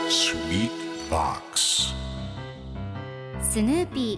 Sweet Box スヌーピ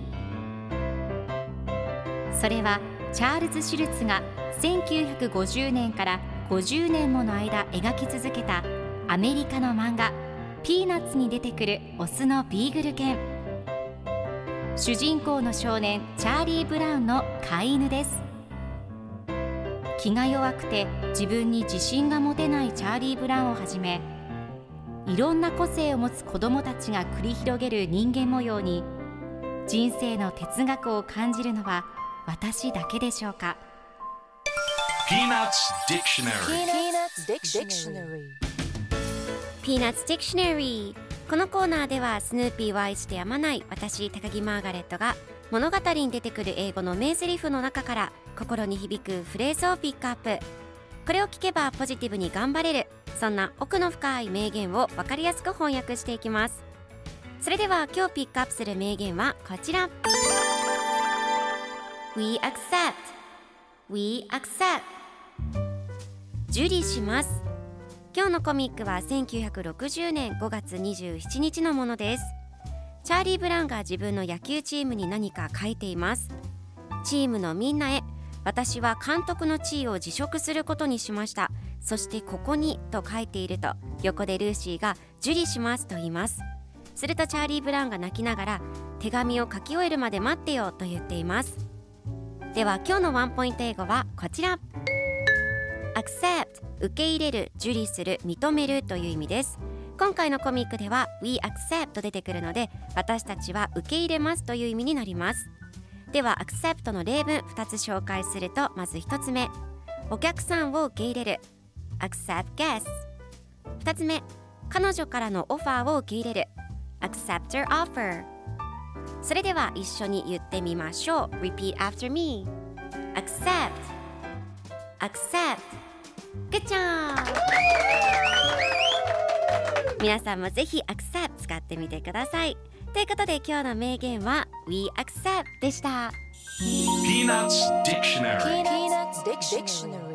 ー。それはチャールズ・シュルツが1950年から50年もの間描き続けたアメリカの漫画ピーナッツに出てくるオスのビーグル犬。主人公の少年チャーリー・ブラウンの飼い犬です。気が弱くて自分に自信が持てないチャーリー・ブラウンをはじめ、いろんな個性を持つ子どもたちが繰り広げる人間模様に人生の哲学を感じるのは私だけでしょうか。 Peanuts Dictionary Peanuts Dictionary。 このコーナーではスヌーピーを愛してやまない私高木マーガレットが物語に出てくる英語の名台詞の中から心に響くフレーズをピックアップ。これを聞けばポジティブに頑張れる、そんな奥の深い名言を分かりやすく翻訳していきます。それでは今日ピックアップする名言はこちら。 We accept We accept 受理します。今日のコミックは1960年5月27日のものです。チャーリー・ブラウンが自分の野球チームに何か書いています。チームのみんなへ、私は監督の地位を辞職することにしました。そしてここにと書いていると、横でルーシーが受理しますと言います。するとチャーリー・ブラウンが泣きながら、手紙を書き終えるまで待ってよと言っています。では今日のワンポイント英語はこちら。 accept 受け入れる、受理する、認めるという意味です。今回のコミックでは We accept と出てくるので、私たちは受け入れますという意味になります。では accept の例文2つ紹介すると、まず1つ目、お客さんを受け入れる accept guests。 2つ目、彼女からのオファーを受け入れる accept her offer。 それでは一緒に言ってみましょう。 Repeat after me。 accept accept。 Good job。 皆さんもぜひ accept 使ってみてください。ということで今日の名言は We accept でした。 Peanuts Dictionary